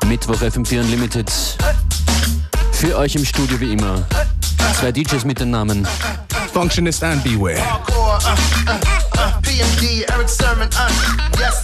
Mittwoch FM4 Unlimited. Für euch im Studio wie immer. 2 DJs mit den Namen Functionist and Beware. PMD, Eric Sermon, yes.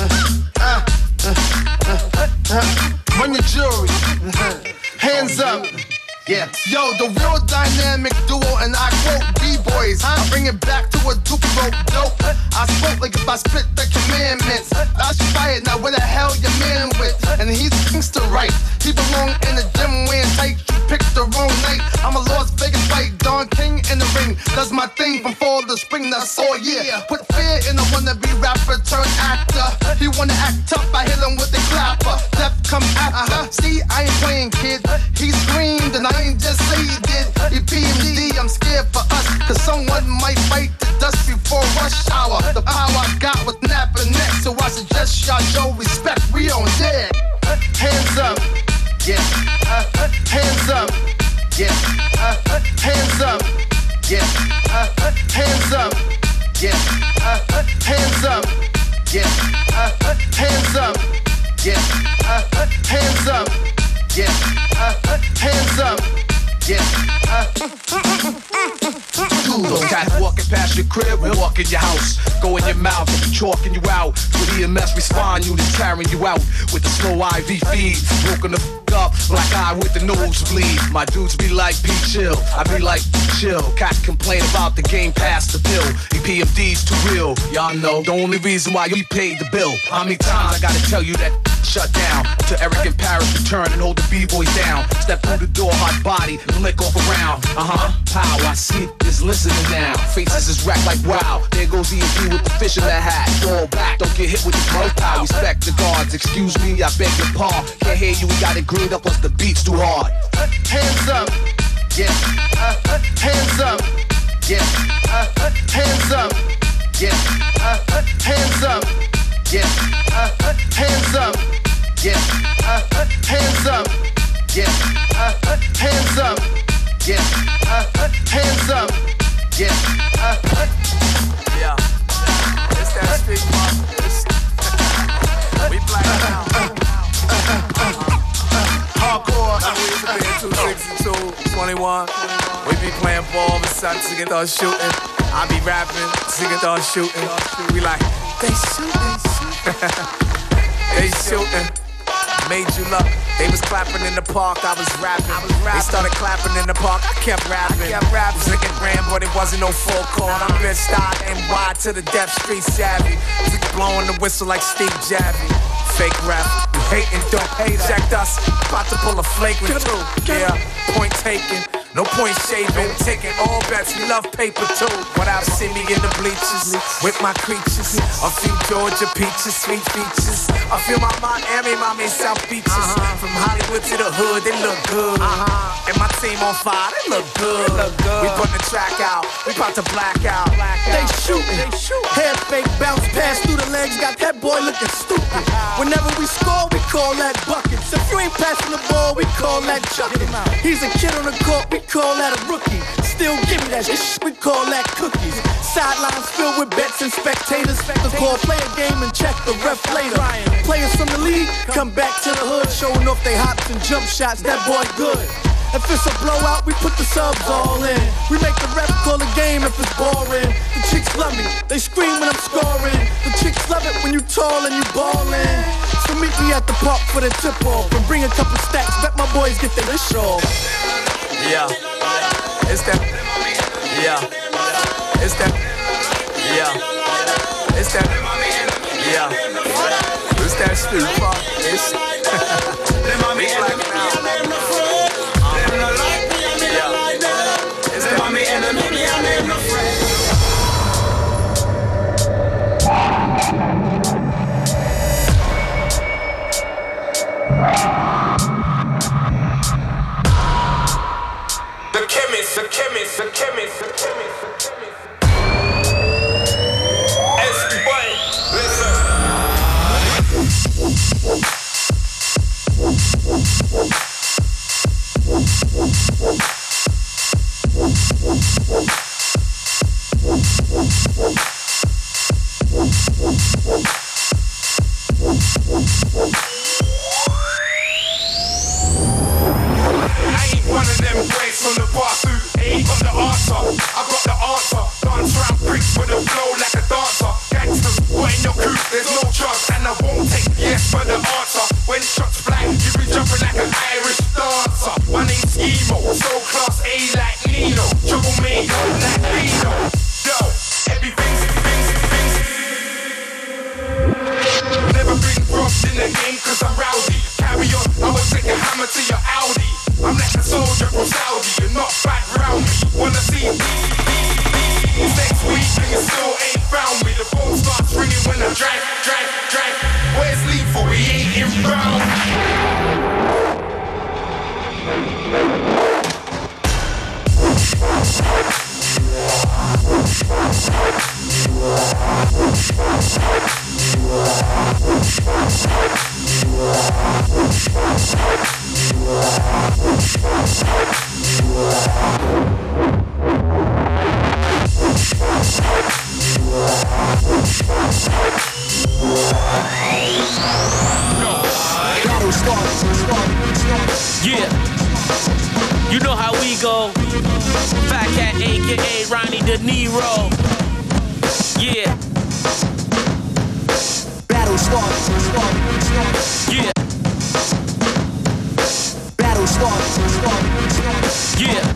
Run your jury, hands up. Yeah, yo, the real dynamic duo, and I quote B-boys. I bring it back to a Duke rope dope. I spoke like if I spit the commandments. I should fired, now where the hell your man with? And he's gangster right. He belong in the gym wearing tight. You picked the wrong night. I'm a Las Vegas fight, Don King in the ring. Does my thing from fall to spring, that's all year. Put fear in a wannabe rapper turned actor. He wanna act tough, I hit him with the clapper. Death come after. See, I ain't playing, kid. He screamed and I ain't just say he did. He PMD, I'm scared for us, cause someone might fight the dust before rush hour. The power I got was napping next, so I suggest y'all show respect. We on dead. Hands up, yeah. Hands up, yeah. Hands up, yeah. Hands up, yeah. Hands up, yeah. Hands up, yeah. Hands up, yeah. Hands up, yeah. Those cats walking past your crib, walk in your house, go in your mouth, and be chalking you out. With EMS respond, units carrying you out with the slow IV feed, broken the up, black eye with the nosebleed. My dudes be like, be chill, I be like, chill. Cats complain about the game past the pill. EPMD's too real, y'all know the only reason why you paid the bill. How many times I gotta tell you that shut down? To Eric and Paris return and hold the B-boys down. Step through the door, hot body, and lick off around. Pow, I see is listening now. Faces is wrecked like wow. There goes EMP with the fish in that hat. Fall back, don't get hit with the smoke pow. Respect the guards, excuse me, I beg your pardon. Can't hear you, we got it greened up, plus the beat's too hard. Hands up, yeah. Hands up, yeah. Hands up, yeah. Hands up, yeah. Hands up, yeah. Hands up, yeah. Hands up, yeah. Hands up, yeah. Yeah, it's that street mark. We black now. Hardcore. We used to be in 262, 21. We be playing ball, but sudden niggas start shooting. I be rapping, niggas start shooting. We like, they shooting. They shooting. Made you look. They was clapping in the park, I was rapping. They started clapping in the park, I kept rapping. Drinking brand, but it wasn't no full court. I'm been style and wide to the death street savvy. Blowing the whistle like Steve Javi. Fake rap, you hating, don't hate. Checked us, about to pull a flagrant too. Yeah, point taken. No point shaving, taking all bets, we love paper too. What out, see me in the bleachers, with my creatures. A few Georgia peaches, sweet features. I feel my Miami, mommy, South Beaches. From Hollywood to the hood, they look good. And my team on fire, they look good. We put the track out, we about to black out. They shooting, head fake, bounce pass through the legs, got that boy looking stupid. Whenever we score, we call that buckets. If you ain't passing the ball, we call that chucking. He's a kid on the court, we call that a rookie. Still give me that shit, we call that cookies. Sidelines filled with bets and spectators. The call, play a game and check the ref later. Players from the league come back to the hood, showing off they hops and jump shots, that boy good. If it's a blowout, we put the subs all in. We make the ref call the game if it's boring. The chicks love me, they scream when I'm scoring. The chicks love it when you tall and you ballin'. So meet me at the park for the tip-off and bring a couple stacks, bet my boys get their wish off. Yeah, it's that. Yeah, it's that. Yeah, it's that. Yeah, it's that street park. It's we black now. The chemist. S-Boy, Yeah, you know how we go. Fat Cat, aka Ronnie De Niro. Yeah. Battle start. Yeah. Battle start. Yeah.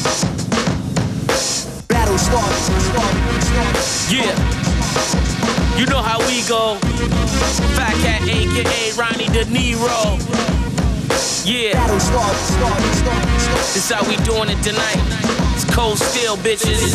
Battle start. Yeah. You know how we go. Fat Cat, aka Ronnie De Niro. Yeah. Battle start. This how we doing it tonight. It's cold steel, bitches.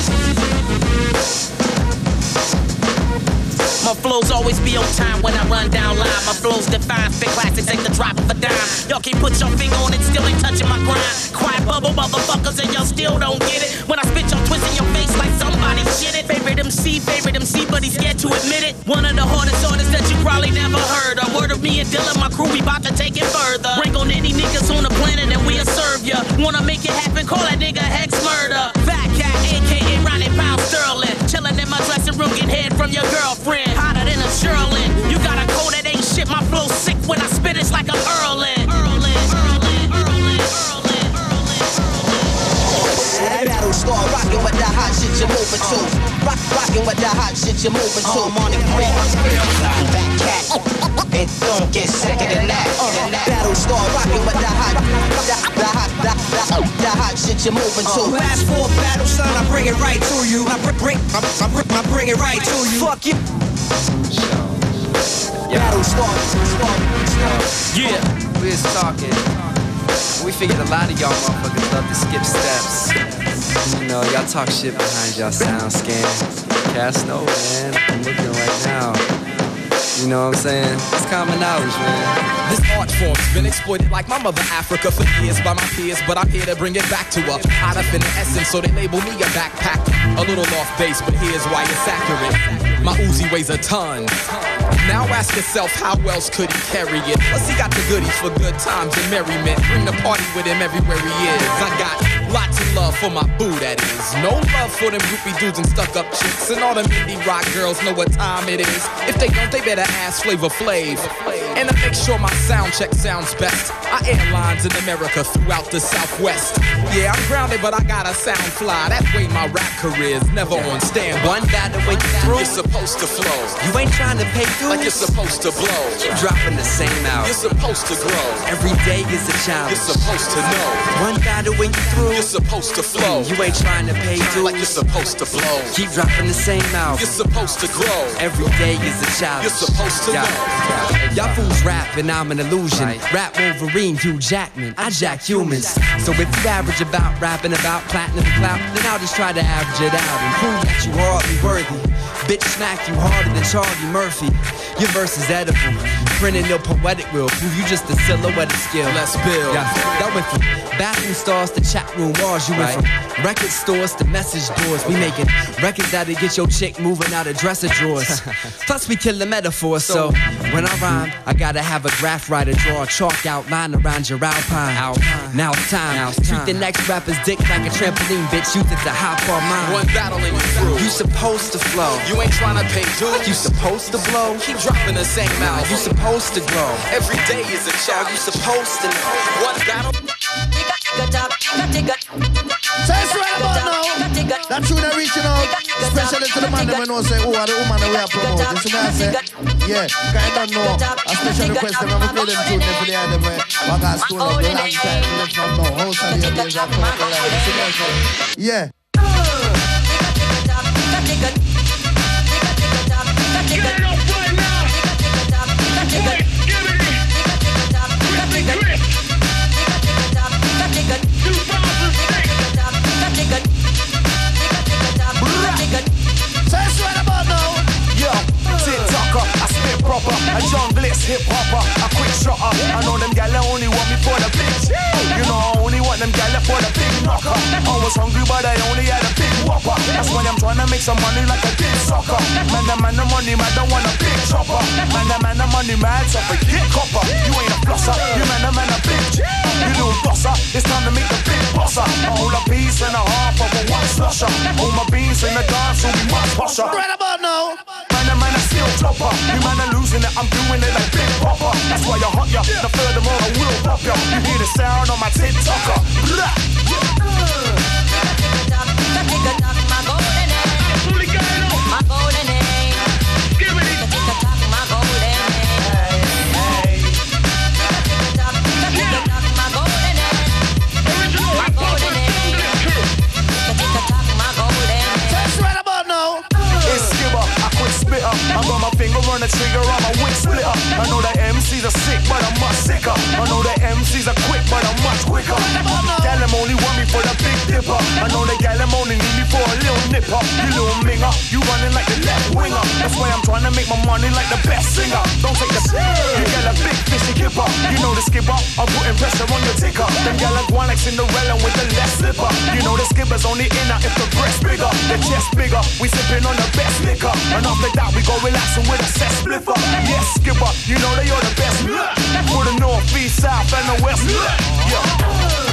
My flows always be on time when I run down line. My flows define fit classics, ain't the drop of a dime. Y'all can't put your finger on it, still ain't touching my grind. Quiet bubble motherfuckers and y'all still don't get it. When I spit, y'all twisting your face like somebody shit it. Favorite MC, but he's scared to admit it. One of the hardest artists that you probably never heard. A word of me and Dylan, my crew, we bout to take it further. Bring on any niggas on the planet and we'll serve ya. Wanna make it happen, call that nigga Hex Murder. Fat Cat, aka Ronnie Pound Sterling. Chillin' in my dressing room, get head from your girlfriend. Hotter than a Sherlin. You got a cold that ain't shit, my flow sick when I spit, it's like I'm Earlin'. Battle start rockin' with that hot shit you're moving to. Rockin' with that hot shit you're moving to. I'm on the grid. Fat Cat. And don't get sicker than that. Battle start rockin' with that hot shit you're moving to. Fast forward battle, son, I bring it right to you. I bring it right to you. Fuck you. Battle start. Yeah. We was talking. We figured a lot of y'all motherfuckers love to skip steps. You know, y'all talk shit behind y'all sound scan. Cast know, man. I'm looking right now. You know what I'm saying? It's common knowledge, man. This art form's been exploited like my mother Africa for years by my peers, but I'm here to bring it back to a high definite essence, so they label me a backpack. A little off base, but here's why it's accurate. My Uzi weighs a ton. Now ask yourself, how else could he carry it? Plus he got the goodies for good times and merriment. Bring the party with him everywhere he is. I got lots of love for my boo, that is. No love for them groupie dudes and stuck-up chicks. And all them indie rock girls know what time it is. If they don't, they better ask Flavor Flav. And to make sure my sound check sounds best, I airlines in America throughout the Southwest. Yeah, I'm grounded, but I gotta sound fly. That way my rap career's never on standby. One battle when you through, you're supposed to flow. You ain't trying to pay dues, like you're supposed to blow. Keep dropping the same album. You're supposed to grow. Every day is a challenge. You're supposed to know. One battle when you through, you're supposed to flow. You ain't trying to pay dues, like you're supposed to blow. Keep dropping the same album. You're supposed to grow. Every day is a challenge. You're supposed to know. Y'all fools rap and I'm an illusion. Right. Rap Wolverine, Hugh Jackman. I jack humans. So if you average about rapping about platinum clout, then I'll just try to average it out and prove that you hardly worthy. Bitch smack you harder than Charlie Murphy. Your verse is edible. Printing your poetic will prove you just a silhouette of skill. Let's build. Yeah, that went from bathroom stars to chat room wars. You went from record stores to message boards. We making records that'll get your chick moving out of dresser drawers. Plus we kill the metaphor. So when I rhyme, I gotta have a graph writer draw a chalk outline around your alpine. Now it's time. Treat the next rapper's dick like a trampoline, bitch. Use it to hop on mine. One battling you through. You supposed to flow. You ain't trying to pay dues. You supposed to blow. Keep dropping the same album. You supposed to grow. Every day is a challenge. You supposed to know. One battle. So it's right about now. That tune are reaching out, especially to the man that we know say, who are the woman that we are promoting. You see what I say? Yeah, because I don't know. A special request them, I'm going to play them tune them for the end of me. What I school like a long time, live from now. House of your days, I come to life. You see what I say? Yeah. Get it up right now. Wait, give it in. Chris. 2006. So it's right about now. Yo, TikToker, I spit proper. A young blitz hip hopper. I quit shotter. I know them gal only want me for the bitch. You know I only want them gal for the big knocker. I was hungry but I only had a big whopper. That's why I'm trying to make some money like a big soccer. Man, the money man don't want a big chopper. Man, the money man, so forget copper. You ain't a flosser, you man a bitch. You little bosser, it's time to make the big bosser. A whole a piece and a half of a one slusher. All my beans in the dance will be much posher. Right about now. Man, a steel chopper. You man are losing it, I'm doing it like Big Popper. That's why you hot ya, the furthermore I will pop ya. You hear the sound on my TikToker. I got my finger on the trigger, I'm a wing splitter. I know that MCs are sick, but I'm much sicker. I know that MCs are quick, but I'm much quicker. Gal, them only want me for the big dipper. I know that gal, them only need me for a little nipper. You little minger, you running like the left winger. That's why I'm trying to make my money like the best singer. Don't take the you get a big fishy kipper. You know the skipper, I'm putting pressure on your ticker. Them gal are going like Cinderella with the left slipper. You know the skipper's only inner if the breast bigger, the chest bigger. We sipping on the best liquor, and after that we go relaxing with a set spliffer. Yes, skipper, you know that you're the best. For the north, east, south, and the west. Yeah.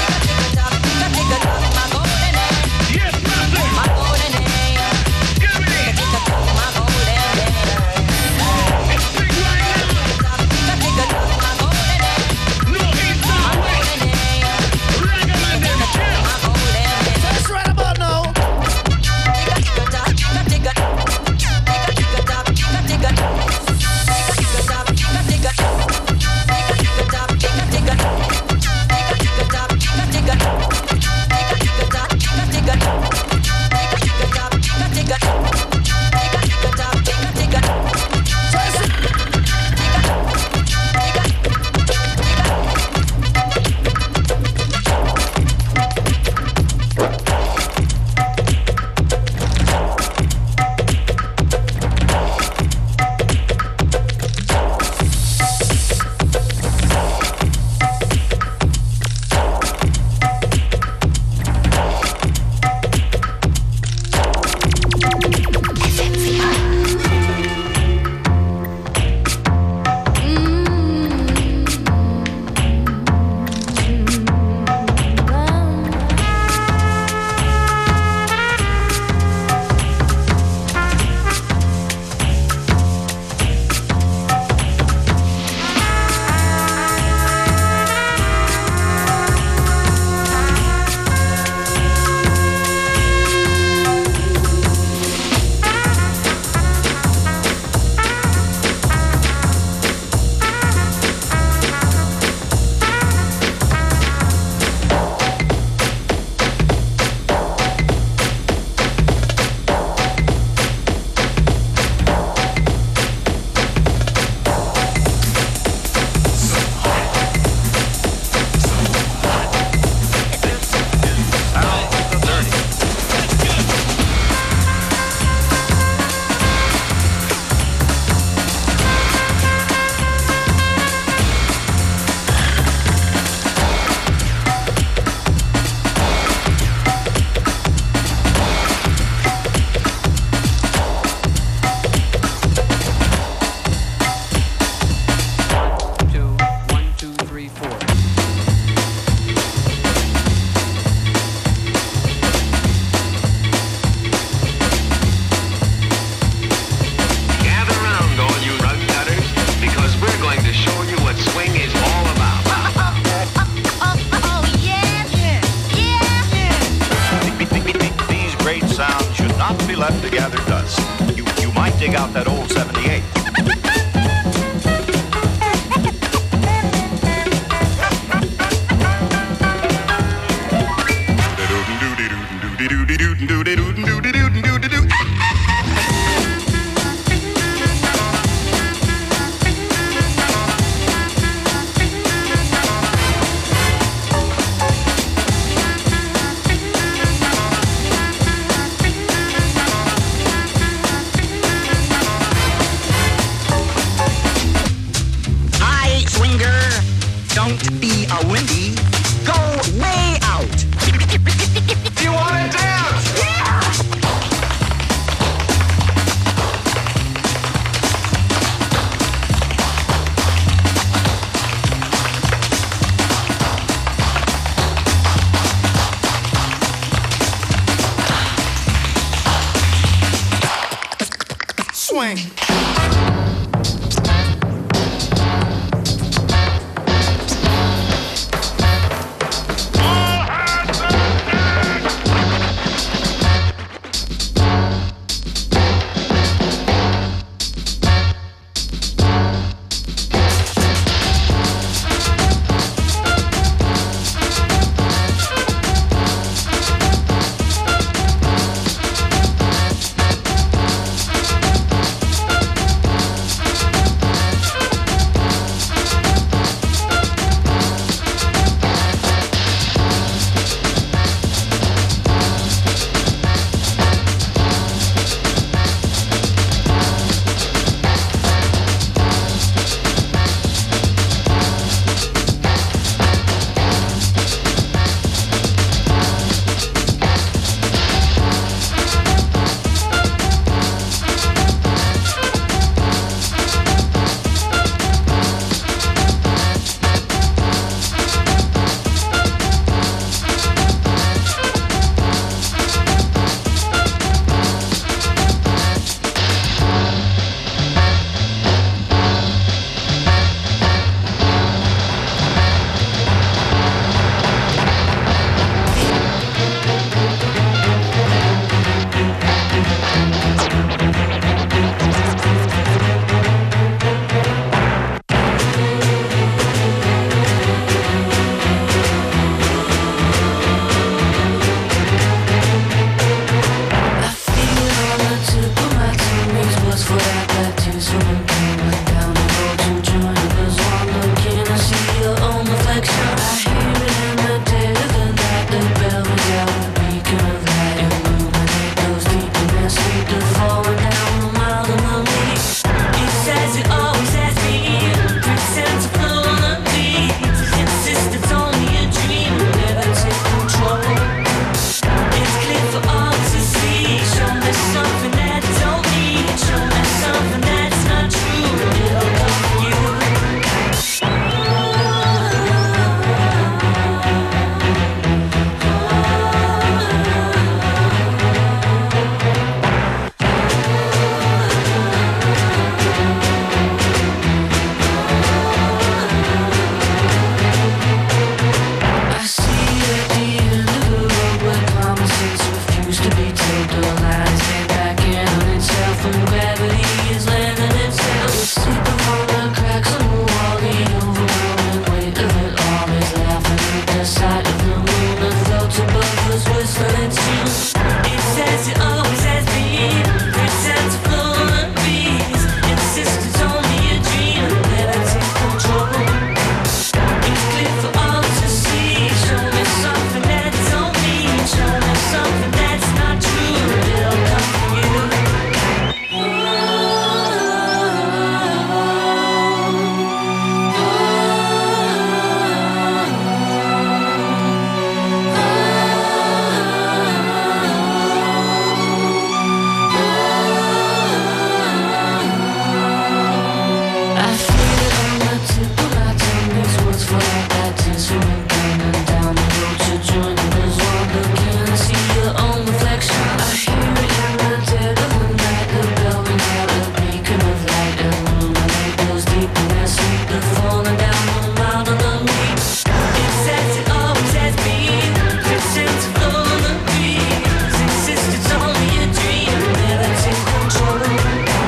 left to gather dust. You might dig out that old 78. Don't be a wimpy. Go way out. You wanna dance? Yeah! Swing.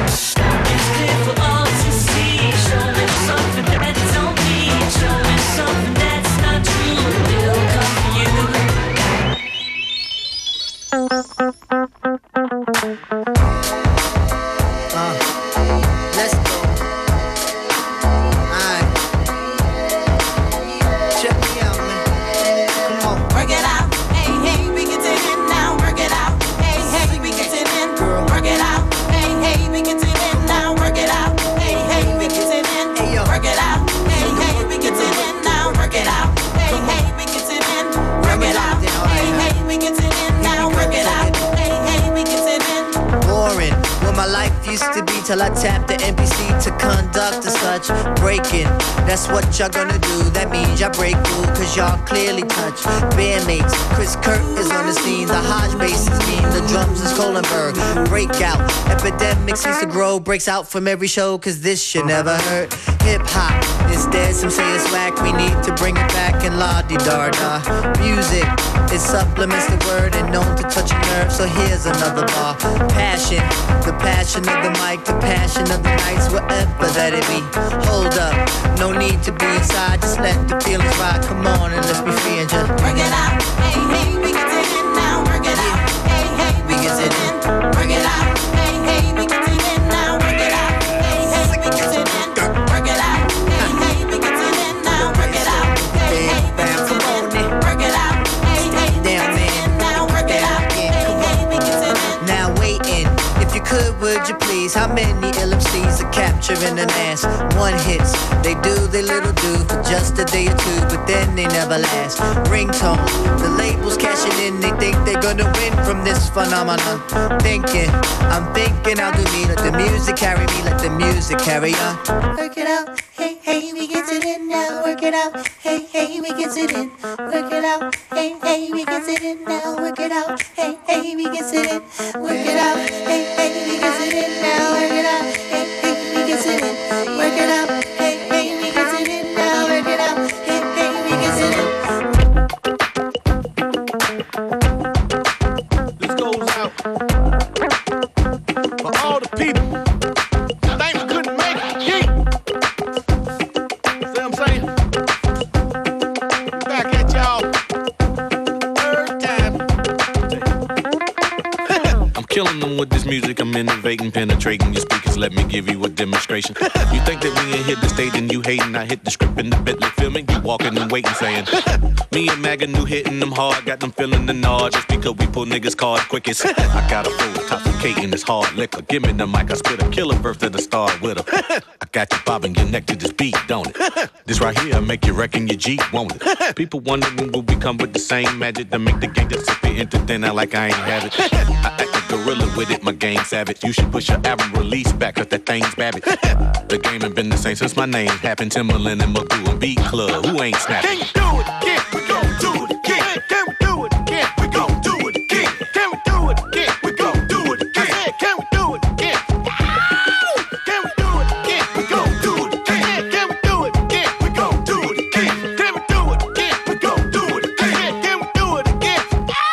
Something till I tap the NPC to conduct as such. Breaking, that's what y'all gonna do. That means y'all break through, cause y'all clearly touch. Bandmates, Chris Kirk is on the scene. The Hodge bass is mean, the drums is Kohlenberg. Breakout, epidemic seems to grow. Breaks out from every show, cause this shit never hurt. Hip hop is dead, some say it's whack. We need to bring it back and la-di-da-da. Music, it supplements the word and known to touch a nerve. So here's another bar. Passion, the passion of the mic, the passion of the nights, whatever that it be. Hold up, no need to be inside, just let the feelings ride. Come on and let's be free and just work it out. Hey, hey, we get it in now. Work it out. Hey, hey, we get it in. Work it out. Hey, hey, we get it in now. Work it out. Hey, hey, we get it in. Work it out. Hey, hey, we get it in now. Work it out. Hey, hey, we get it in. Work it out. Hey, hey, damn man, now work it out. Hey, hey, we get it in. now waiting. If you could, would you please? How many LMCs are capturing an ass? One hits, they do their little do for just a day or two, but then they never last. Ringtone, the labels cashing in, they think they're gonna win from this phenomenon. I'm thinking I'll do me, let the music carry me, let the music carry on. Work it out. Hey, hey, we get it in now. Work it out. Hey, hey, we get it in. Work it out. Hey, hey, we get it in now. Work it out. Hey, hey, we get it in. Work it out. Hey, hey, we get it in now. Work it out. Hey, hey, we get it in. Work it out. Hey, hey, we get it in now. Work it out. Hey, hey, we get it in. This goes out for all the people that think we couldn't make it. See what I'm saying? Back at y'all. Third time. I'm killing them with this music, I'm innovating, penetrating your speakers, let me give you a demonstration. You think that we ain't hit the stage and you hating, I hit the script in the Bentley filming, you walking and waiting saying, me and Maga knew hitting them hard, got them feeling the nod, just because we pull niggas card quickest. I got a full intoxicating this hard liquor, give me the mic, I spit a killer verse to the star with her. I got you bobbing your neck to this beat, don't it? This right here make you reckon your Jeep, won't it? People wondering will we come with the same magic to make the game disappear into thin out like I ain't have it. I act a gorilla with it, my game savage. You should push your album release back, cause that thing's babbitt. The game ain't been the same since my name happened. Timberland and Magoo and Beat Club, who ain't snapping? Can you do it again? We gon' do it again. Can we do it again? We gon' do it again. Can we do it again? We gon' do it again. Can we do it again? Can we do it again? We gon' do it again. Can we do it again? We gon' do it again. Can we do it again? We gon' do it again. Can we do it again?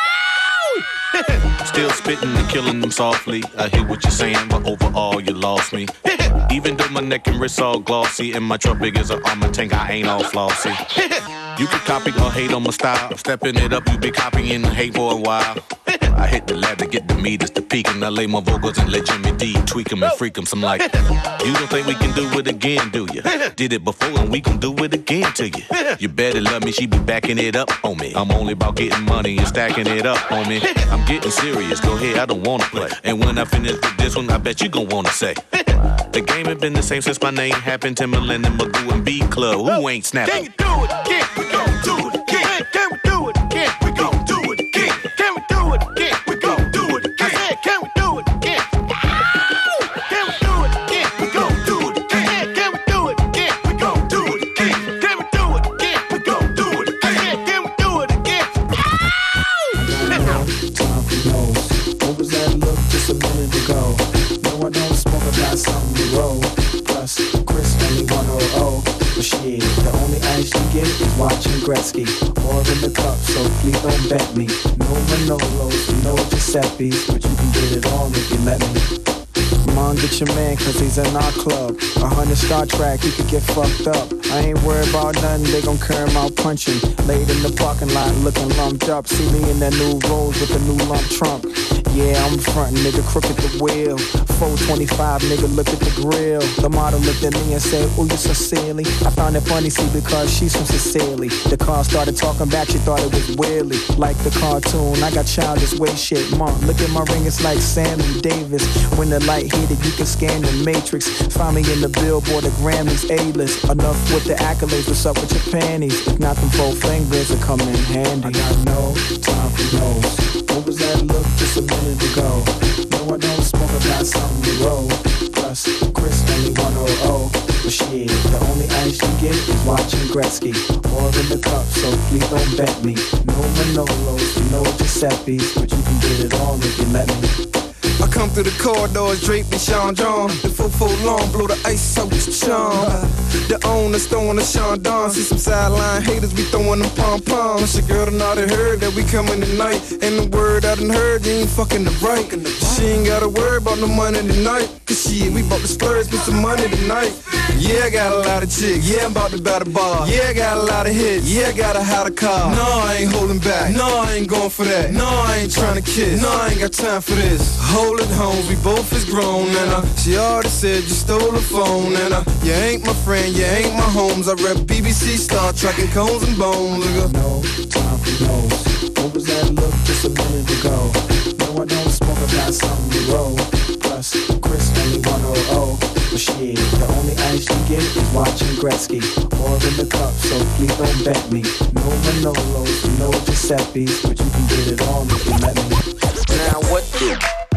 Still spitting and killing them softly. I hear what you're saying, but overall you lost me. Even though my neck and wrists all glossy and my truck big as an armor tank, I ain't all flossy. You can copy or hate on my style. Stepping it up, you be copying and hate for a while. I hit the lab to get the meters to peak, and I lay my vocals and let Jimmy D tweak them and freak them. Some like, you don't think we can do it again, do you? Did it before and we gon' do it again to you. You better love me, she be backing it up on me. I'm only about getting money and stacking it up on me. I'm getting serious, go ahead, I don't wanna play. And when I finish with this one, I bet you gon' wanna say, the game ain't been the same since my name happened. Timberland and Magoo and Beat Club, who ain't snapping? Can you do it again? We gon' do it again. Can we do it again? We gon' do it again. Can we do it again? We gon' do it again. Can we do it again? Can we do it again? We gon' do it again. Can we do it again? We gon' do it again. Can we do it again? We gon' do it again. Can we do it again? Time for those. What was that look just a minute ago? No, I don't smoke, I got something to roll. Plus, Chris only 100. But shit, the only ice you get is watching Gretzky. Or in the cup, so please don't bet me. No Manolos, no Giuseppe's, but you can get it all if you let me. Come on, get your man, cause he's in our club. 100 Star Trek, he could get fucked up. I ain't worried about nothing, they gon' carry him out punching. Laid in the parking lot, looking lumped up. See me in that new Rolls with a new lump trunk. Yeah, I'm frontin', nigga, crooked the wheel. 425, nigga, look at the grill. The model looked at me and said, ooh, you so silly. I found it funny, see, because she's from Sicily. The car started talking back, she thought it was Willie. Like the cartoon, I got childish way shit. Mom, look at my ring, it's like Sammy Davis. When the light hit it, you can scan the matrix. Find me in the Billboard, the Grammys, A-list. Enough with the accolades, what's up with your panties? If not, them 4 fingers will come in handy. I got no time for those. What was that look just a minute ago? No, I don't smoke, I got something to roll. Plus, Chris only 100. But shit, the only ice you get is watching Gretzky. More in the cup, so please don't bet me. No Manolos, no Giuseppe's, but you can get it all if you let me. I come through the corridors draped in Sean John. The 4-4 long, blow the ice out with charm. The owner's throwing a Sean Don. See some sideline haters, we throwing them pom-poms. Your girl done already heard that we coming tonight. And the word I done heard, you ain't fucking the right. She ain't gotta worry about no money tonight. Cause shit, we bout to splurge with some money tonight. Yeah, I got a lot of chicks. Yeah, I'm about to buy the bar. Yeah, I got a lot of hits. Yeah, I got a hotter car. No, I ain't holding back. No, I ain't going for that. No, I ain't trying to kiss. No, I ain't got time for this. Hold it home, we both is grown. And she already said you stole the phone. And you ain't my friend, you ain't my homes. I rep BBC, Star Trek, and Cones and Bones. No time for those. What was that look just a minute ago? No, I don't smoke, I got something to roll. Plus, Chris only 100. But shit, the only ice you get is watching Gretzky. More in the cup, so please don't bet me. No Manolos, no Giuseppe's, but you can get it all if you let me. Now what do?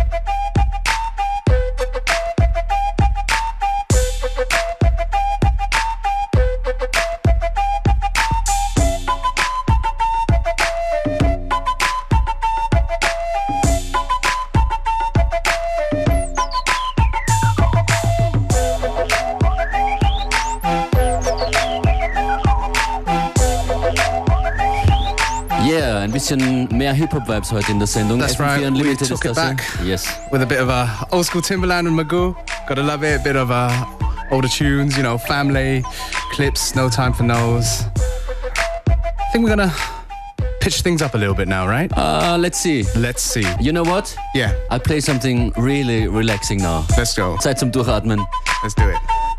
Ein bisschen mehr Hip-Hop-Vibes heute in der Sendung. That's right, we took it back with a bit of a old school Timberland and Magoo. Gotta love it, a bit of older tunes, you know, family, clips, No Time for No's. I think we're gonna pitch things up a little bit now, right? Let's see. Let's see. You know what? Yeah. I'll play something really relaxing now. Let's go. Zeit zum Durchatmen. Let's do it.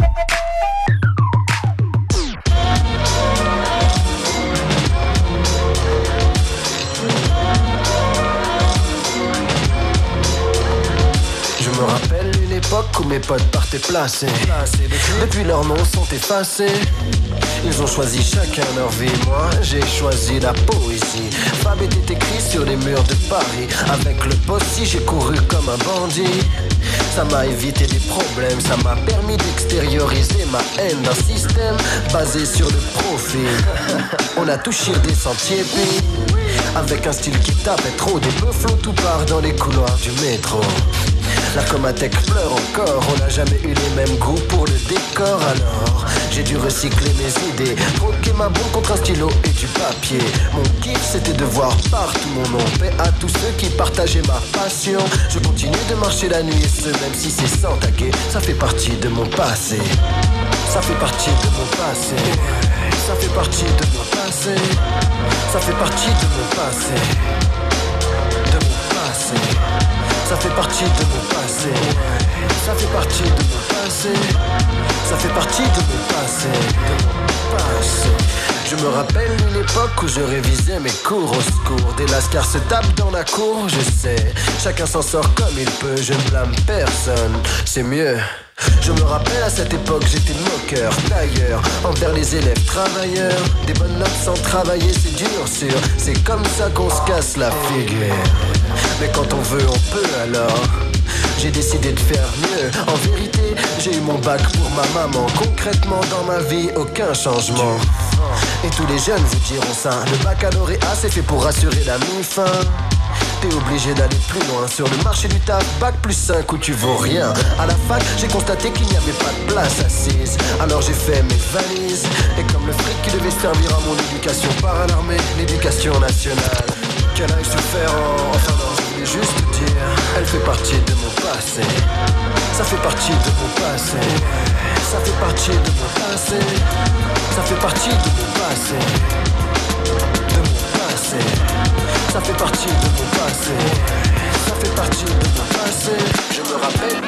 Je me rappelle une époque où mes potes partaient placés. Depuis leurs noms sont effacés. Ils ont choisi chacun leur vie. Moi j'ai choisi la poésie. Fab était écrit sur les murs de Paris. Avec le possi j'ai couru comme un bandit. Ça m'a évité des problèmes. Ça m'a permis d'extérioriser ma haine d'un système basé sur le profil. On a touché des sentiers puis avec un style qui tapait trop. Des peu flots tout part dans les couloirs du métro. La Comatec pleure encore, on n'a jamais eu les mêmes goûts pour le décor. Alors j'ai dû recycler mes idées, troquer ma bombe contre un stylo et du papier. Mon kiff c'était de voir partout mon nom. Paix à tous ceux qui partageaient ma passion. Je continue de marcher la nuit et ce même si c'est sans taquer. Ça fait partie de mon passé. Ça fait partie de mon passé. Ça fait partie de mon passé. Ça fait partie de mon passé. De mon passé. Ça fait partie de mon passé. Ça fait partie de mon passé. Ça fait partie de mon passé. De mon passé. Je me rappelle une époque où je révisais mes cours au secours. Des lascars se tapent dans la cour, je sais. Chacun s'en sort comme il peut, je ne blâme personne. C'est mieux. Je me rappelle à cette époque j'étais moqueur, tailleur, envers les élèves travailleurs. Des bonnes notes sans travailler c'est dur sûr. C'est comme ça qu'on se casse la figure. Mais quand on veut on peut alors. J'ai décidé de faire mieux. En vérité j'ai eu mon bac pour ma maman. Concrètement dans ma vie aucun changement. Et tous les jeunes vous diront ça. Le baccalauréat c'est fait pour assurer la mi-fin. T'es obligé d'aller plus loin sur le marché du taf. Bac plus 5 où tu vaux rien. À la fac j'ai constaté qu'il n'y avait pas de place assise. Alors j'ai fait mes valises. Et comme le fric qui devait servir à mon éducation par l'armée, l'éducation nationale. Qu'elle aille se faire enfin non je voulais juste dire. Elle fait partie de mon passé. Ça fait partie de mon passé. Ça fait partie de mon passé. Ça fait partie de mon passé. De mon passé. Ça fait partie de mon passé. Ça fait partie de mon passé. Je me rappelle.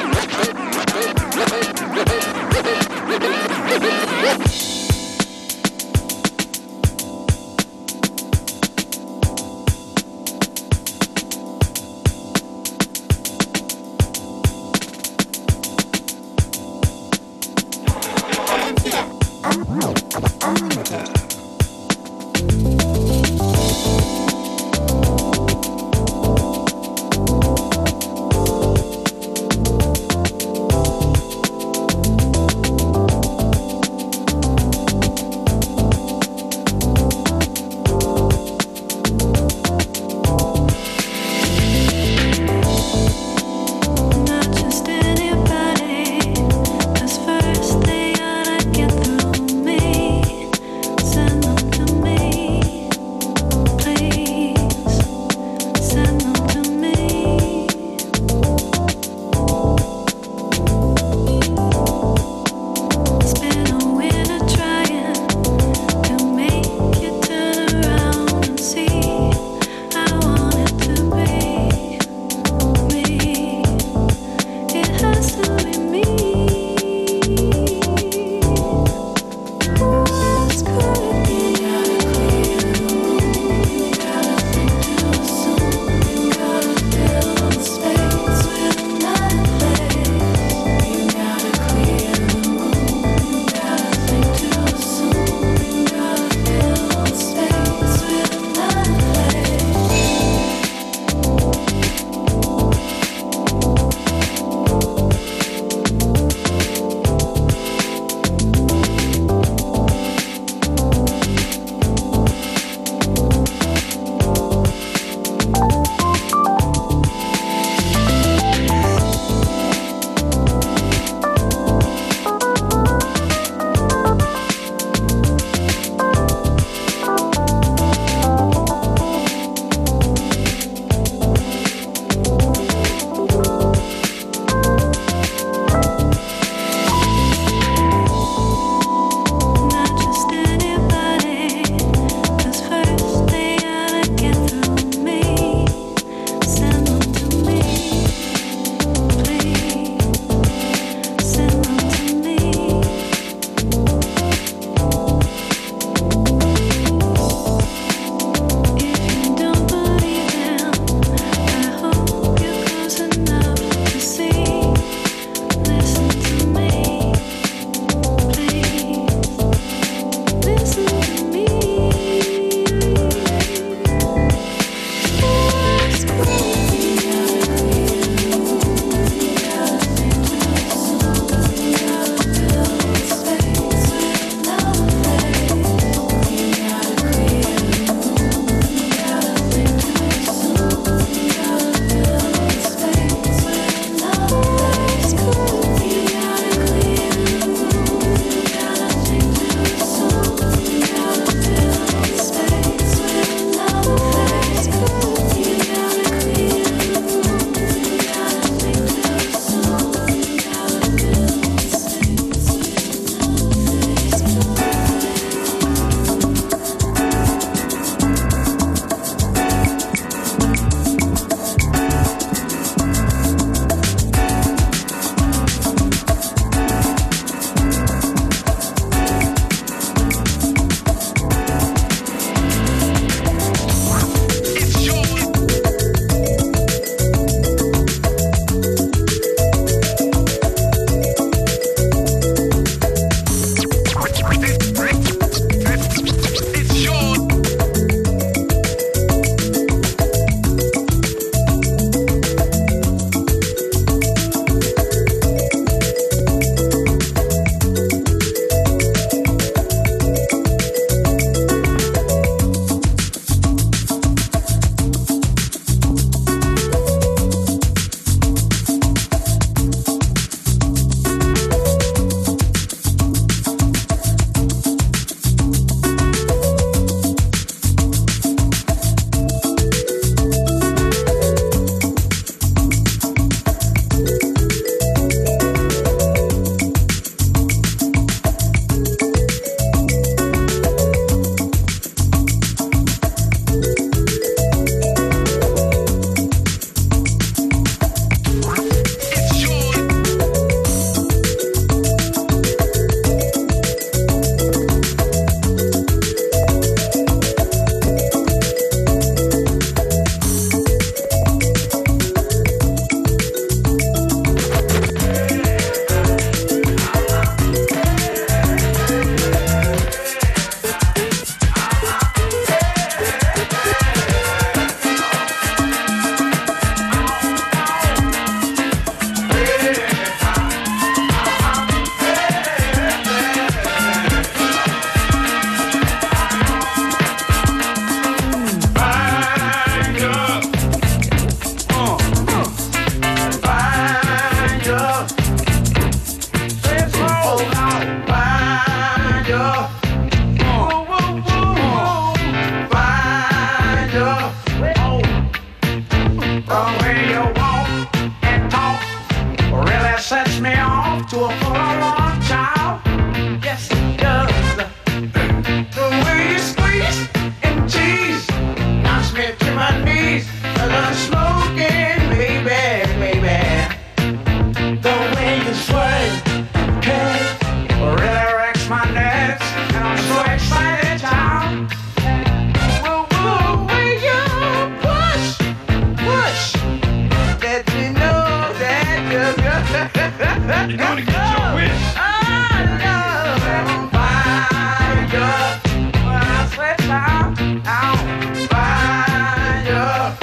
We're down, down, fire.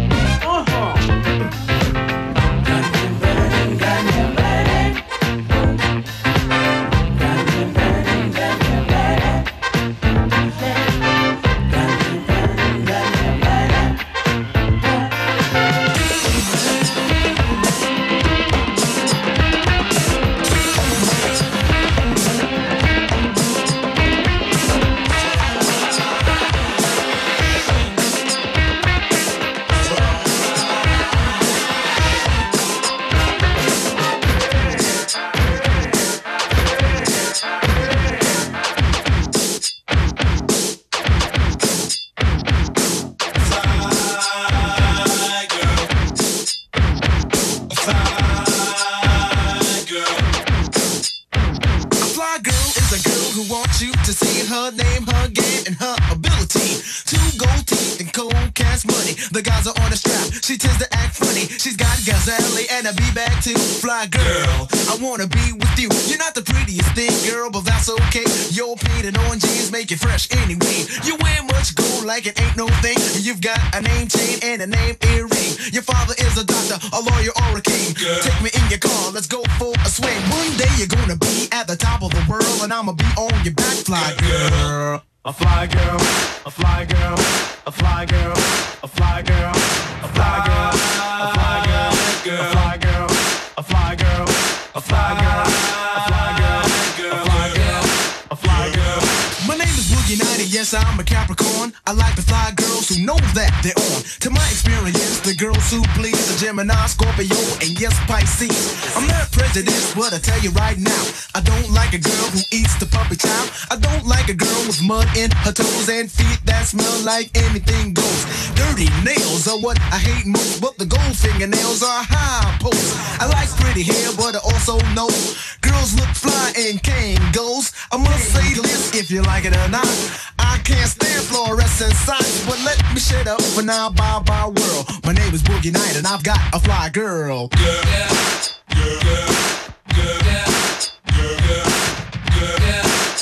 Girl, I wanna be with you. You're not the prettiest thing, girl, but that's okay. Your painted orange jeans make you fresh anyway. You wear much gold like it ain't no thing. You've got a name chain and a name earring. Your father is a doctor, a lawyer, or a king. Girl. Take me in your car, let's go for a swing. One day you're gonna be at the top of the world, and I'ma be on your back, fly girl. A fly girl, a fly girl, a fly girl, a fly girl, a fly girl, a fly girl, a fly girl, a fly girl, a fly girl, a fly girl, a fly girl, a fly girl. My name is Boogie Nighty, yes, I'm a Capricorn. I like to fly girls who know that they're on. To my experience, the girls who please a Gemini, Scorpio, and yes, Pisces. I'm not prejudiced, but I tell you right now, I don't like a girl who eats the puppy chow. I don't like a girl with mud in her toes and feet that smell like anything goes. Dirty nails are what I hate most, but the gold fingernails are high post. I like pretty hair, but I also know girls look fly in Kangols. I must say this, if you like it or not, I can't stand fluorescent signs, but let me shut up for now, bye bye world. My name is Boogie Night and I've got a fly girl. Girl, girl, girl, girl, girl, girl, girl, girl.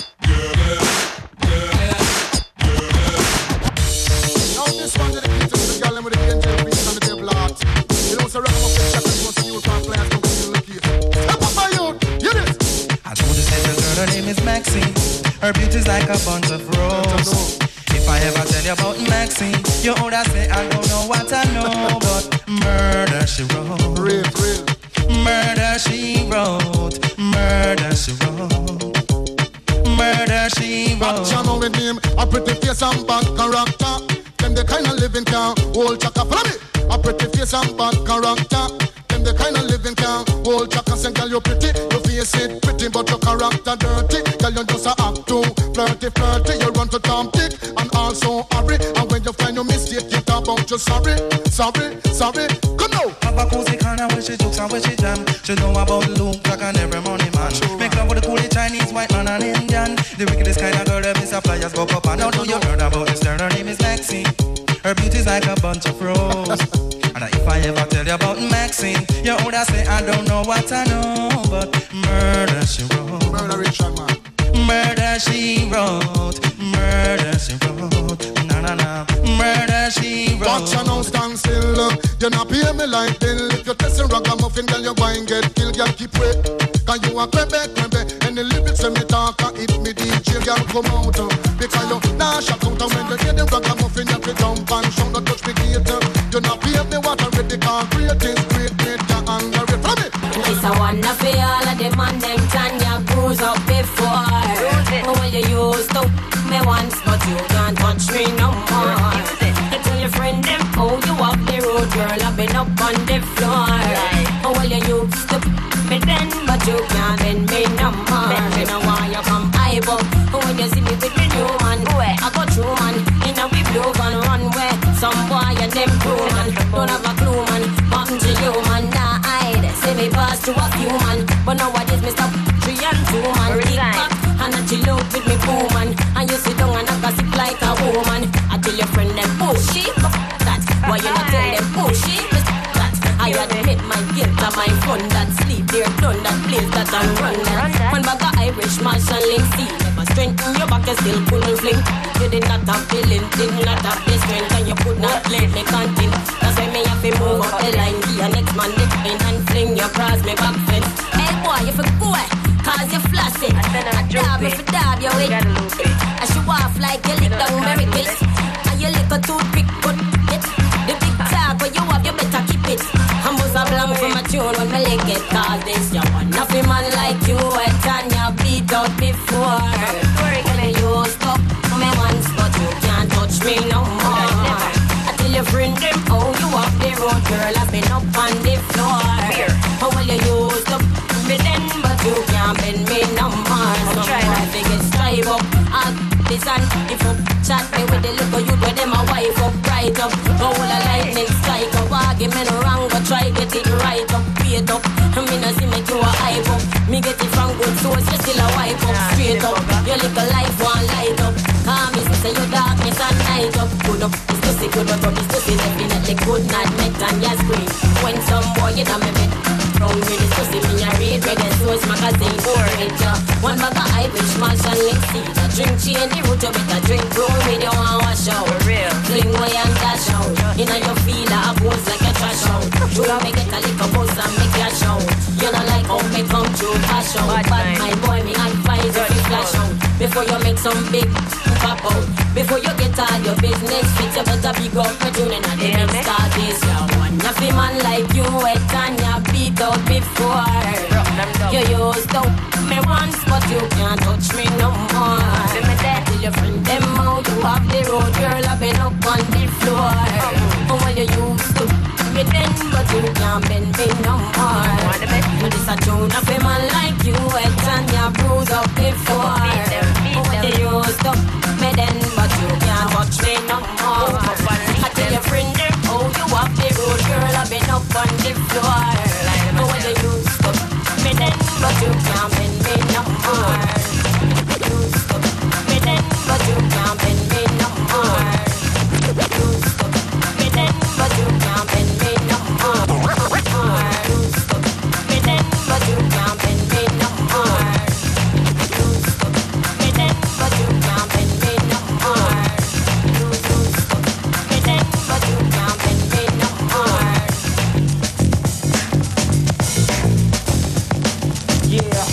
This one dedicated to the girl with the angel beats on the table art. You know, so rock up the shot and you want to use one players don't feel the case. Step up my youth, hear this. I told this little girl her name is Maxine. Her beauty's like a bunch of roses. If I ever tell you about Maxine, you would say I don't know what I know, but murder she wrote. Real, real. Murder she wrote. Murder she wrote. Murder she wrote. But you know with him, a pretty face and bad character. Them the kind of living can hold chaka. Follow me. A pretty face and bad character. Them the kind of living can hold chaka. Say girl you pretty, your face it pretty, but your character dirty. Girl you just a act too flirty, flirty. You run to Tom Dick and also hurry. And when you find your mistake, you talk about you sorry, sorry, sorry. Come now. Have a cozy corner where she jokes and where she jam. She know about Luke like an every money man. Make love with the coolie Chinese, white man and Indian. The wickedest kind of girl that Mr. Flyers go up and now do you heard about this girl? Her name is Maxine. Her beauty's like a bunch of roses. And if I ever tell you about Maxine, you would say I don't know what I know, but murder she wrote. Murder Richard man. Murder she wrote. Murder she wrote. Na na na. Murder she wrote. Watch you now stand still. You not pay me like bill. If you're testing ragamuffin, girl, you go and get killed. Girl, keep wait. Cause you a crebe, crebe. And the lyrics when me talk, it me DJ, girl, come out. Because you nah shout out. And when you hear the ragamuffin, you can jump and shout. Don't touch me gator. You not pay me what I read. Because great is great, great, you're angry. From it. It's a wonder for all of them and them can you cruise up before. When you used to me once, but you can't touch me no more. You tell your friend them, oh you up the road, girl, I've been up on the floor. Well you used to me then, but you can't bend me no more. You know why you come high up. When you see me with me new man, I go through man, in a we blue and runway. Some boy and them crew man, don't have a clue man. Nothing to you man, nah hide. Say me pass to a few man, but nowadays me stop 3 and 2 man. Kick back and I chill out with me boo man. And you sit down and I gossip like a woman. I tell your friend them pushy, that. Why you not tell them pushy, that. I admit my guilt and my fun that sleep there done that place that I run that. One bag of Irish Marshall Link, see never strengthen your back, you still pull and fling. You did not have feeling, did not have the strength, and you could not let me continue. That's why me have to move up the line, be your next man, dip in and fling you across me back fence. Hey boy, you for boy, cause you flossy. I dab if you dab your way. I show off like you lick down miracles. And you lick a toothpick, cut it. The big tag where you have, you better keep it. I'm bust a blank for my tune when my leg get cause this. You want nothing man like you, and you beat out before. When you stop me once, but you can't touch me no more. Until your friend them, oh, you up the road, girl, I've been up on the floor. Oh, well, you used to me then, but you can't bend me no more. So I think it's strive up, I'll this and if you chat me with the little youth where them a wife up, right up. Go all a lightning strike, a argument wrong, but try get it right up, straight up. I mean, I see make you a hype up. Me get it from good source, you still a wipe up, straight up. Your little life one light up. Me say you darkness and night up. Good up, it's pussy good, but from this pussy definitely good not met and you scream. When some boy you done me met round with this pussy, me a read reggae source magazine. One bag of Irish mash and linseed. A drink chain the root, you better drink brown with you and wash out. Fling away and dash out. You know you feel a pose like a trash out. You me get a little buzz and make you shout. You know like how me come through cash out. But my boy me advise if you flash out. Before you make some big pop out. Before you get all your business fit, you better big up for tuning and the next start this. You want nothing man like you wet and you beat out before. You used to me once, but you can't touch me no more. Till your friend them out, you have the road, girl, I've been up on the floor. Oh, well, you used to me then, but you can't bend me no more. This a tune of a man like you, wet and you bruise up before. Oh, well, you used to me then, but you can't touch me no more. I tell your friend them, oh, you have the road, girl, I've been up on the floor. Oh, well, you used to me then, but you can't bend me no more. You used to me then, but you can't bend me no more. You used to me then, but you can't bend me no more. You used to me then, but you can't bend me no more. You used to me then, but you can't bend me no more. You used to me then, but you can't bend me no more. Yeah.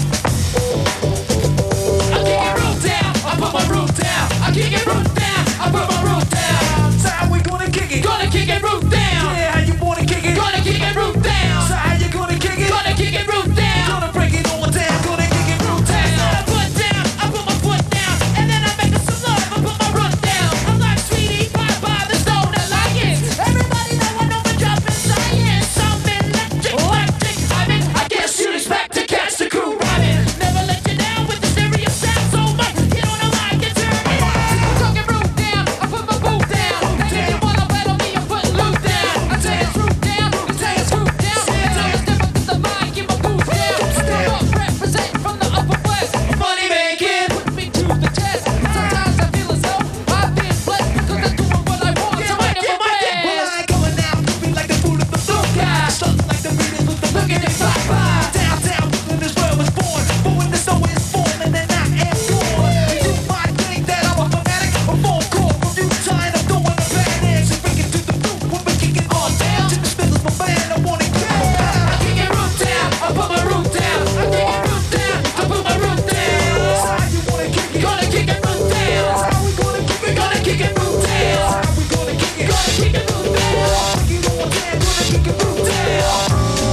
I kick it root down, I put my root down. I kick it root down, I put my root down. So how we gonna kick it? Gonna kick it root down. Yeah, how you wanna kick it? Gonna kick it root down. So how you gonna kick it? Gonna kick it root down. Gonna break it all down, gonna kick it root down. I put down, I put my foot down, and then I make some love, I put my root down. I'm like sweetie pie by the stone alliance. Everybody know I know my job in science. I'm electric, I mean, I guess you'd expect to catch the crew riding. Never let you down with the stereo sound so much. Get on the mic and turn it on. Talking root down, I put my boot down. And if you wanna battle me, I put loot down. I tell you root down, I tell you root down. I tell you step up to the mic, get my boot down. Step up, represent from the upper west. Money making, put me to the test. Sometimes I feel as though I've been blessed because I'm doing what I want. So I never rest. Well, I ain't going out, you be like the fool of the blue guy. Stuck like the Beatles with the look in their fly by. Downtown, when this world was born. But when the snow is born and then I am gone. You might think that I'm a fanatic, a phone call from you tired of doing the badass. And bring it to the root when we kick it all down. Jimmy Smith is my man, I want it down. I kick it root down, I put my root down. I kick it root down, I put my root down. So how you wanna kick it? Gonna kick it root down. So how we gonna kick it? Gonna kick it root down. So how we gonna kick it? Gonna kick it root down. Break it all down, gonna kick it root down.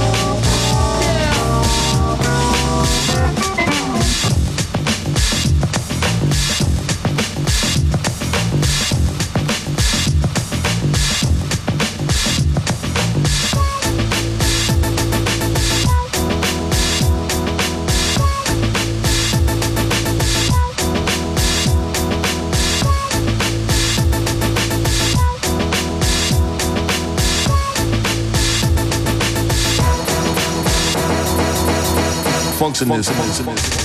Funktionist.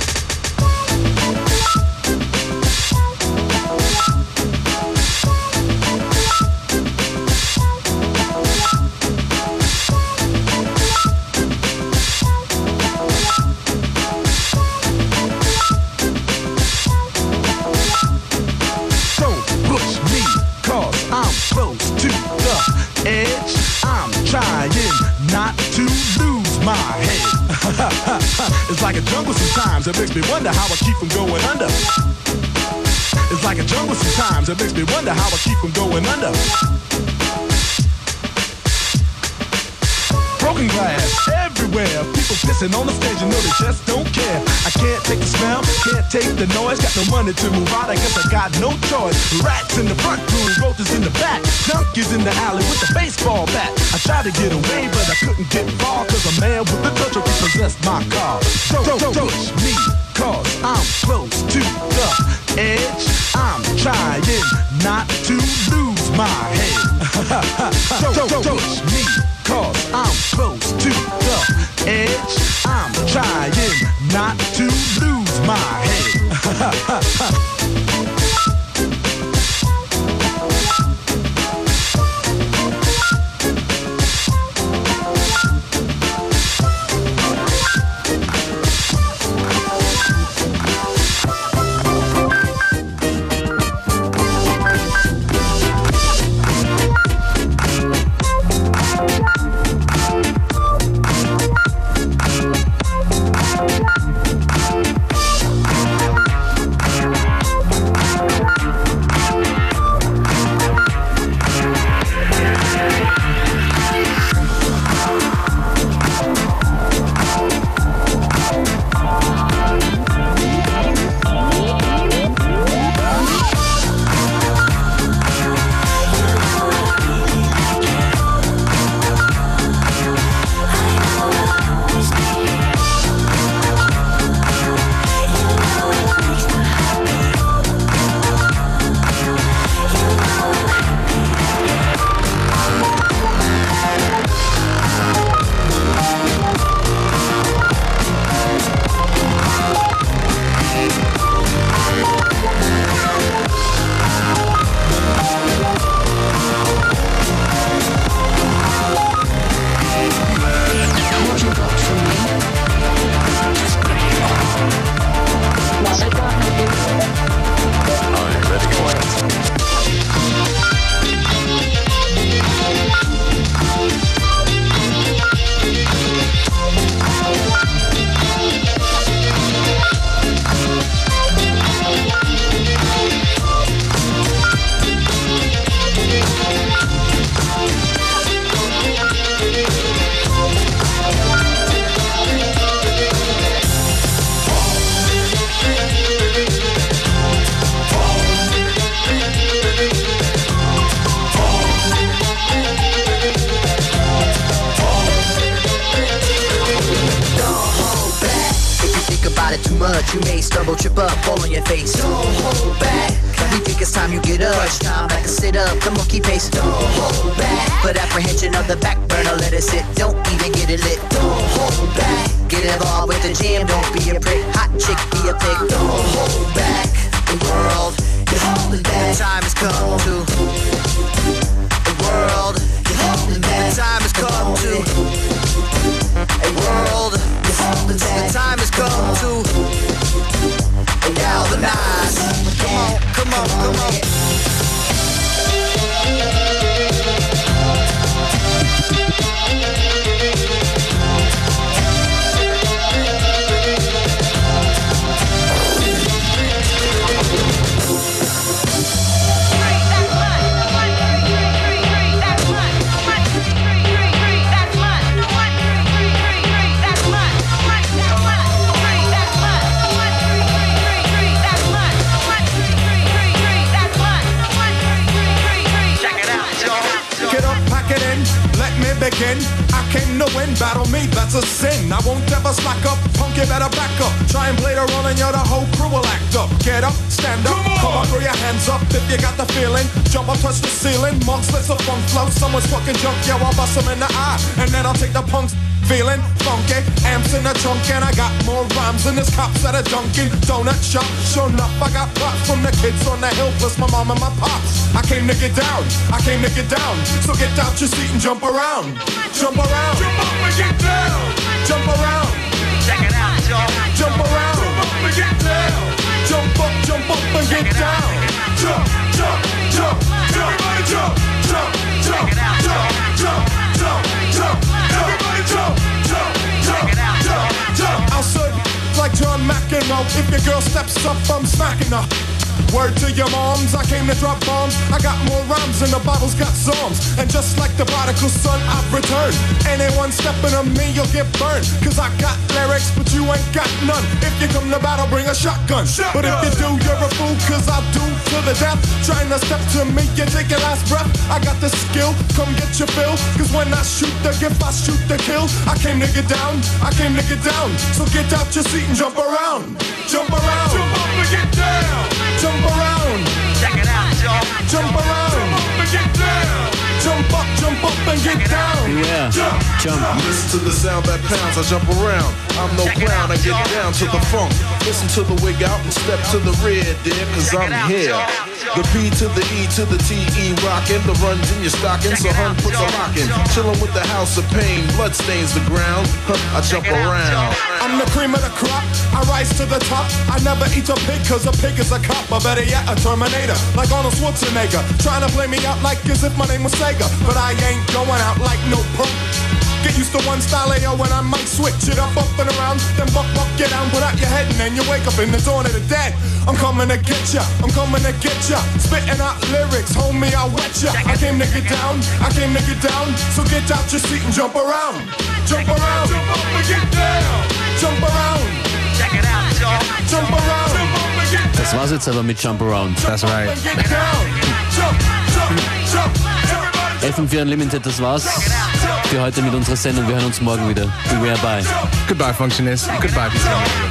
It's like a jungle sometimes, it makes me wonder how I keep from going under. It's like a jungle sometimes, it makes me wonder how I keep from going under. Broken glass everywhere, people pissing on the stage, you know they just don't care. I can't take the smell, can't take the noise, got no money to move out, I guess I got no choice. Rats in the front room, roaches in the back, junkies in the alley with a baseball bat. I tried to get away, but I couldn't get far, cause a man with the touch repossessed my car. Don't push me, cause I'm close to the edge. I'm trying not to lose my head. Don't push me, cause I'm close to the edge. I'm trying not to lose my head. You may stumble, trip up, fall on your face. Don't hold back. We think it's time you get up. Crunch time, back and sit up, the monkey pace. Don't hold back. Put apprehension on the back burner, let it sit. Don't even get it lit. Don't hold back. Get involved with the jam, don't be a prick. Hot chick, be a pig. Don't hold back. The world is holding back. The time has come to. The world is holding back. The time has come to. A world is holding back. The time has come to. Galvanize. Come on, come on. Begin. I came to win, battle me, that's a sin. I won't ever slack up, punk, you better back up. Try and play the role and you're the whole crew will act up. Get up, stand up, come on, throw your hands up if you got the feeling. Jump up, touch the ceiling, monks, let's a funk flow. Someone's fucking junk, yeah, I'll bust them in the eye. And then I'll take the punks. Feeling funky, amps in the trunk, and I got more rhymes than this cops at a Dunkin' Donut shop. Sure enough, I got props from the kids on the hill, plus my mom and my pops. I came to get down, I came to get down. So get out your seat and jump around. Jump around, jump up and get down. Jump around, check it out, y'all. Jump around, jump up and get down. Jump up and get down. Jump, jump, jump, jump. Everybody jump, jump, jump, jump, jump, jump, jump. Everybody jump, jump, jump, jump, jump. I'll serve know, if your girl steps up, I'm smacking her. Word to your moms, I came to drop bombs. I got more rhymes and the Bible's got psalms. And just like the prodigal son, I've returned. Anyone stepping on me, you'll get burned. Cause I got lyrics, but you ain't got none. If you come to battle, bring a shotgun. But if you do, you're a fool, cause I do to the death. Trying to step to me, you take your last breath. I got the skill, come get your fill. Cause when I shoot the gift, I shoot the kill. I came to get down, I came to get down. So get out your seat and jump around. Jump around. Jump up and get down. Jump around. Check it out, y'all. Jump around. Jump up and get down. Jump up and get down. Yeah. Jump. Listen to the sound that pounds, I jump around. I'm no clown, I get down to the funk. Listen to the wig out and step to the rear, dear, cause I'm here. The B to the E to the T-E rockin'. The runs in your stocking, so hun puts a lock in. Chillin' with the house of pain, blood stains the ground. I jump around. I'm the cream of the crop, I rise to the top. I never eat a pig cause a pig is a cop. Or better yet, a Terminator, like Arnold Schwarzenegger. Trying to play me out like as if my name was Sega. But I ain't going out like no punk. Get used to one style AO when I might switch it up and around. Then buck, get down, put out your head and then you wake up in the dawn of the dead. I'm coming to get ya, I'm coming to get ya. Spitting out lyrics, homie, I'll wet ya. I came to get down, I came to get down. So get out your seat and jump around. Jump around, jump up and get down. Jump around. Check it out, y'all. Jump around. Jump up and get down. Das war's jetzt aber mit Jump Around. That's right. FM4 Unlimited, das war's für heute mit unserer Sendung. Wir hören uns morgen wieder. Beware bye. Goodbye, Functionist. Goodbye, peace.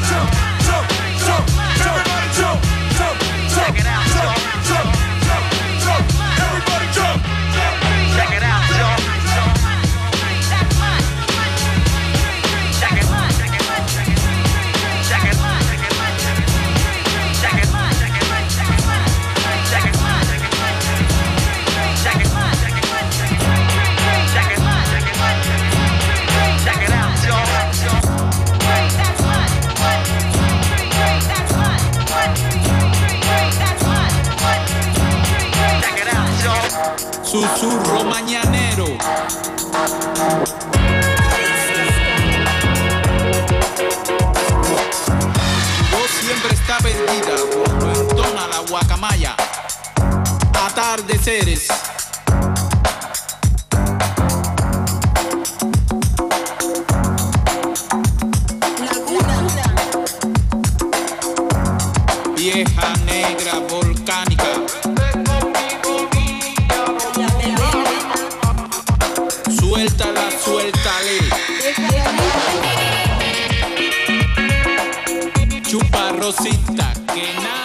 Susurro mañanero. Vos siempre está perdida cuando entona la guacamaya. Atardeceres. Vieja negra volcánica. Suéltala, suéltale. Chupa rosita, que nada.